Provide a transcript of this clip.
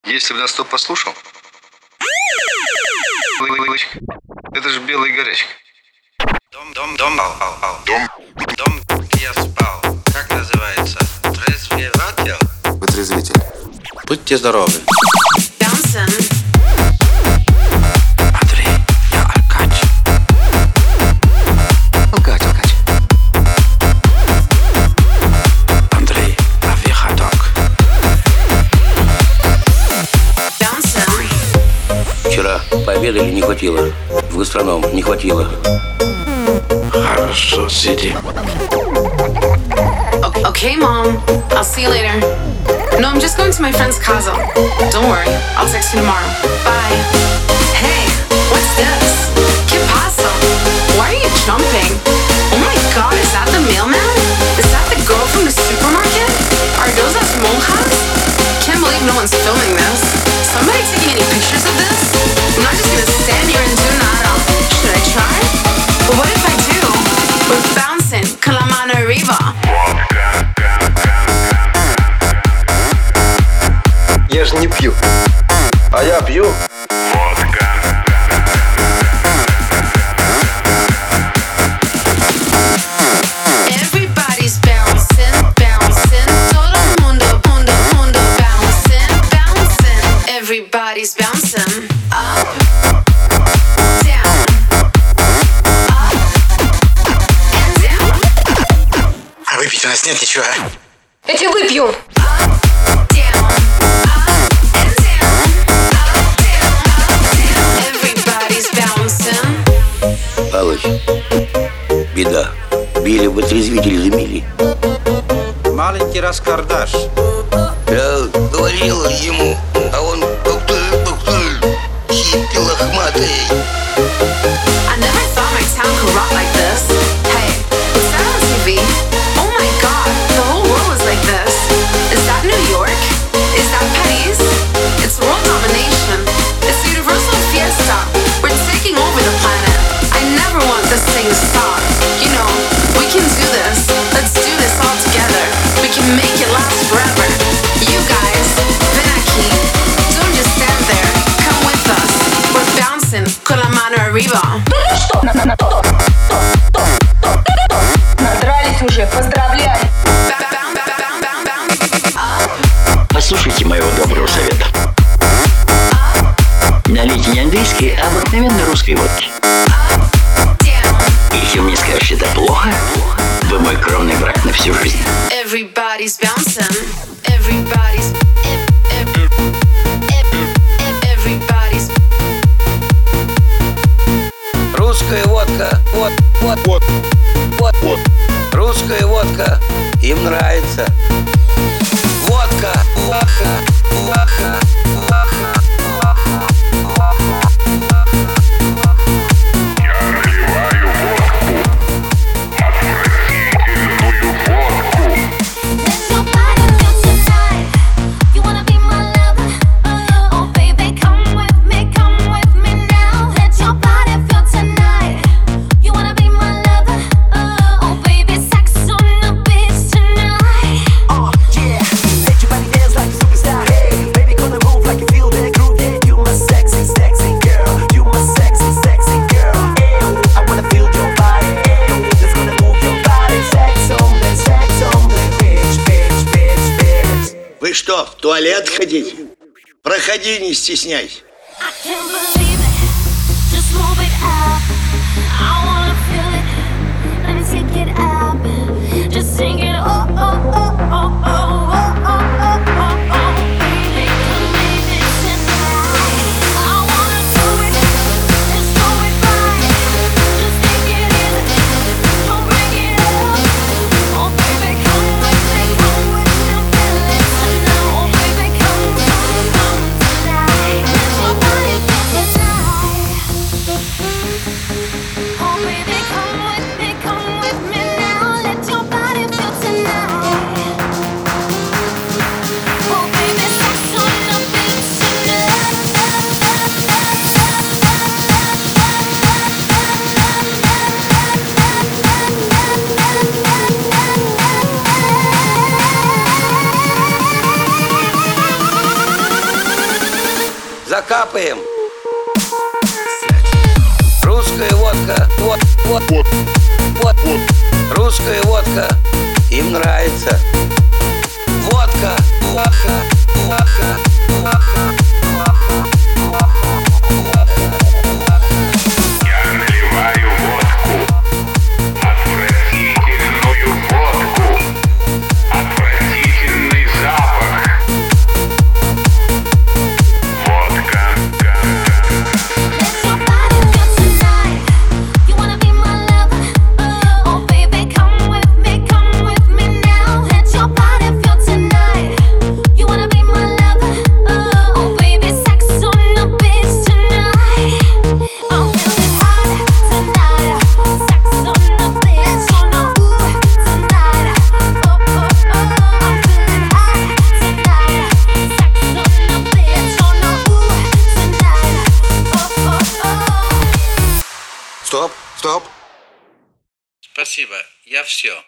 Если бы нас кто послушал, это же белая горячка. Дом, где я спал. Как называется? Трезвеватель? Вытрезвитель. Будьте здоровы. Андрей, я Алкач. Алкач. Андрей, авиаходок. Вчера пообедали, не хватило. В гастроном не хватило. Хорошо, сиди. Okay, Mom. I'll see you later. No, I'm just going to my friend's casa. Don't worry. I'll text you tomorrow. Bye. Hey, what's this? ¿Qué pasa? Why are you jumping? Oh my God, is that the mailman? Is that the girl from the supermarket? Are those us monjas? Can't believe no one's filming this. Somebody taking any pictures of this? I'm not just gonna stand here and do nada. Should I try? But what if I do? We're bouncing con la mano arriba. Я же не пью. А я пью. Everybody's bouncing, bouncing. Todo mundo, mundo, bouncing, bouncing. Everybody's bouncing. Up, down, up, and down. А выпить у нас нет ничего. Я тебе выпью. Up, down, up, and down. Up, down, up, down. Everybody's bouncing. Палыч, беда. Били вытрезвитель замели. Маленький раскардаш. Я говорил ему, а он хиппи лохматый. I never thought my town could rock like this. Hey, what's that on TV? Oh my God, the whole world is like this. Is that New York? Is that Paris? It's world domination. It's the universal fiesta. We're taking over the planet. I never want this thing to stop. You know, we can do this. Let's do this all together. We can make it last forever. You guys, ven aquí. Don't just stand there. Come with us. We're bouncing con la mano arriba. Надрались уже, поздравляю. Послушайте моего доброго совета. Налейте не английской, а обыкновенной русской водки. Если вы мне скажете это плохо, вы мой кровный враг на всю жизнь. Everybody's bouncing. Everybody's. Everybody's. Русская водка, вот. Русская водка им нравится. Водка. Вы что, в туалет ходите? Проходи, не стесняйся. I can't believe it. Just move it up. I wanna feel it and take it up. Just sing it. Oh, oh, oh, oh, oh, oh, oh, oh, oh, oh. Baby, come baby tonight. I wanna do it. Just do it right. Just take it in. Don't break it up. Oh, baby, come with me. Come with me. Feel it tonight. Oh, baby, come tonight. Let your body feel tonight. Oh baby, come with me now. Let your body feel tonight. Закапаем. Русская водка. Вот. Русская водка. Им нравится. Водка. Я наливаю водку, отвратительную водку, отвратительный запах. Водка. Let your body feel tonight. You wanna be my lover? Oh baby, come with me now. Let your body feel tonight. You wanna be my lover? Oh baby, sex on the beach tonight. I'm feeling hot tonight. Sex on the beach, on the tonight. I'm feeling hot tonight. Sex on the beach, on the tonight. Стоп. Спасибо, я все.